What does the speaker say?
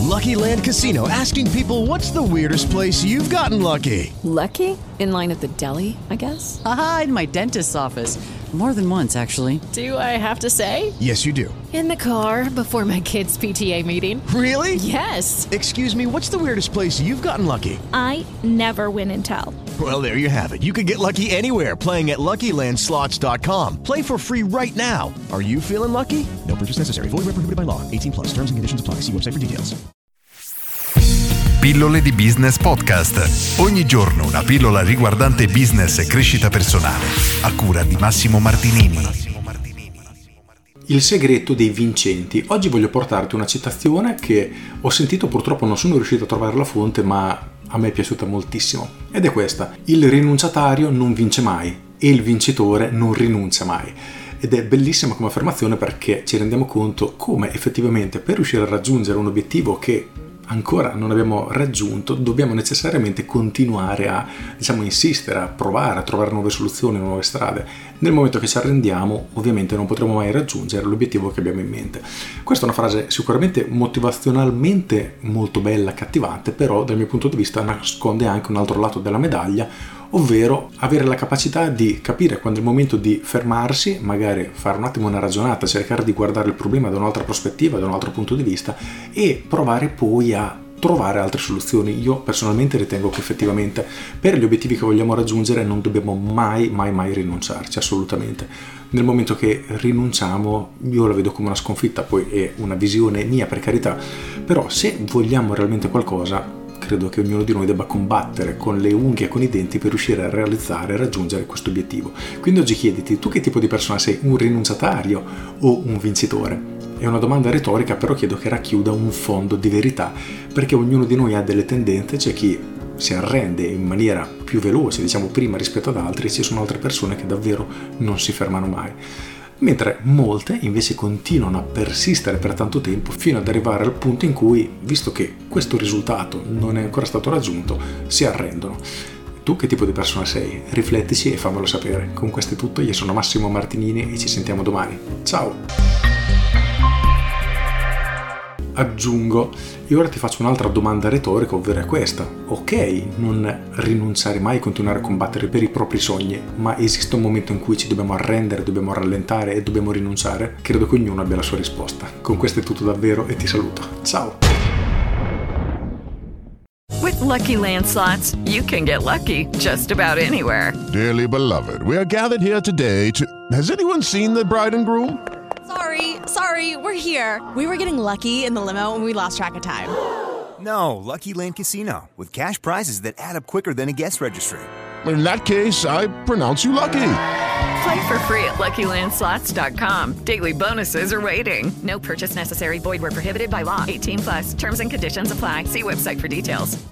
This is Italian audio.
Lucky Land Casino, asking people, what's the weirdest place you've gotten lucky? Lucky? In line at the deli, I guess? Aha, in my dentist's office. More than once, actually. Do I have to say? Yes, you do. In the car before my kids' PTA meeting. Really? Yes. Excuse me, what's the weirdest place you've gotten lucky? I never win and tell. Well, there you have it. You can get lucky anywhere, playing at LuckyLandSlots.com. Play for free right now. Are you feeling lucky? No purchase necessary. Void where prohibited by law. 18+. Terms and conditions apply. See website for details. Pillole di Business Podcast. Ogni giorno una pillola riguardante business e crescita personale. A cura di Massimo Martinini. Il segreto dei vincenti. Oggi voglio portarti una citazione che ho sentito, purtroppo non sono riuscito a trovare la fonte, ma a me è piaciuta moltissimo. Ed è questa: il rinunciatario non vince mai e il vincitore non rinuncia mai. Ed è bellissima come affermazione, perché ci rendiamo conto come effettivamente per riuscire a raggiungere un obiettivo che ancora non abbiamo raggiunto, dobbiamo necessariamente continuare a, insistere, a provare, a trovare nuove soluzioni, nuove strade. Nel momento che ci arrendiamo, ovviamente non potremo mai raggiungere l'obiettivo che abbiamo in mente. Questa è una frase sicuramente motivazionalmente molto bella, accattivante, però dal mio punto di vista nasconde anche un altro lato della medaglia, ovvero avere la capacità di capire quando è il momento di fermarsi, magari fare un attimo una ragionata, cercare di guardare il problema da un'altra prospettiva, da un altro punto di vista, e provare poi a trovare altre soluzioni. Io personalmente ritengo che effettivamente per gli obiettivi che vogliamo raggiungere non dobbiamo mai rinunciarci, assolutamente. Nel momento che rinunciamo, io la vedo come una sconfitta, poi è una visione mia, per carità, però se vogliamo realmente qualcosa, credo che ognuno di noi debba combattere con le unghie e con i denti per riuscire a realizzare e raggiungere questo obiettivo. Quindi oggi chiediti: tu che tipo di persona sei? Un rinunciatario o un vincitore? È una domanda retorica, però chiedo che racchiuda un fondo di verità, perché ognuno di noi ha delle tendenze. C'è chi si arrende in maniera più veloce, prima rispetto ad altri, e ci sono altre persone che davvero non si fermano mai. Mentre molte invece continuano a persistere per tanto tempo fino ad arrivare al punto in cui, visto che questo risultato non è ancora stato raggiunto, si arrendono. Tu che tipo di persona sei? Riflettici e fammelo sapere. Con questo è tutto, io sono Massimo Martinini e ci sentiamo domani. Ciao! Aggiungo, e ora ti faccio un'altra domanda retorica, ovvero è questa: ok, non rinunciare mai, continuare a combattere per i propri sogni, ma esiste un momento in cui ci dobbiamo arrendere, dobbiamo rallentare e dobbiamo rinunciare? Credo che ognuno abbia la sua risposta. Con questo è tutto davvero e ti saluto. Ciao! With Lucky Land Slots, you can get lucky just about anywhere. Dearly beloved, we are gathered here today to... Has anyone seen the bride and groom? Sorry, we're here. We were getting lucky in the limo and we lost track of time. No, Lucky Land Casino, with cash prizes that add up quicker than a guest registry. In that case, I pronounce you lucky. Play for free at LuckyLandSlots.com. Daily bonuses are waiting. No purchase necessary. Void where prohibited by law. 18+. Terms and conditions apply. See website for details.